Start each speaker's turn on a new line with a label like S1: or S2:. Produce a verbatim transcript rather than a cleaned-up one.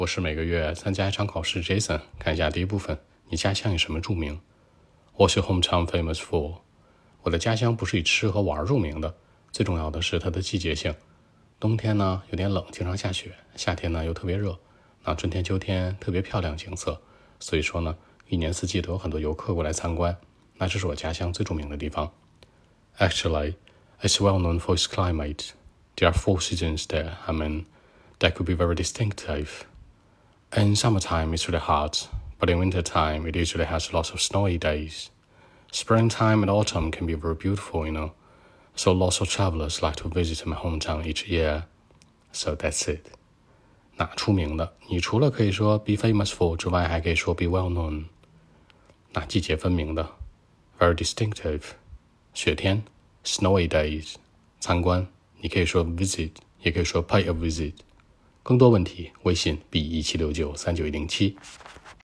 S1: 我是每个月参加一场考试 Jason， 看一下第一部分，你家乡以什么著名？ What's your hometown famous for？ 我的家乡不是以吃和玩著名的，最重要的是它的季节性。冬天呢有点冷，经常下雪，夏天呢又特别热，那春天秋天特别漂亮景色，所以说呢一年四季都有很多游客过来参观，那这是我家乡最著名的地方。 Actually, it's well known for its climate. There are four seasons there. I mean, that could be very distinctive.In summertime, it's really hot, but in wintertime, it usually has lots of snowy days. Springtime and autumn can be very beautiful, you know, so lots of travelers like to visit my hometown each year. So that's it. 那出名的，你除了可以说 be famous for 之外，还可以说 be well known. 那季节分明的 very distinctive. 雪天 snowy days. 参观，你可以说 visit, 也可以说 pay a visit.更多问题，微信 b 一七六九三九一零七。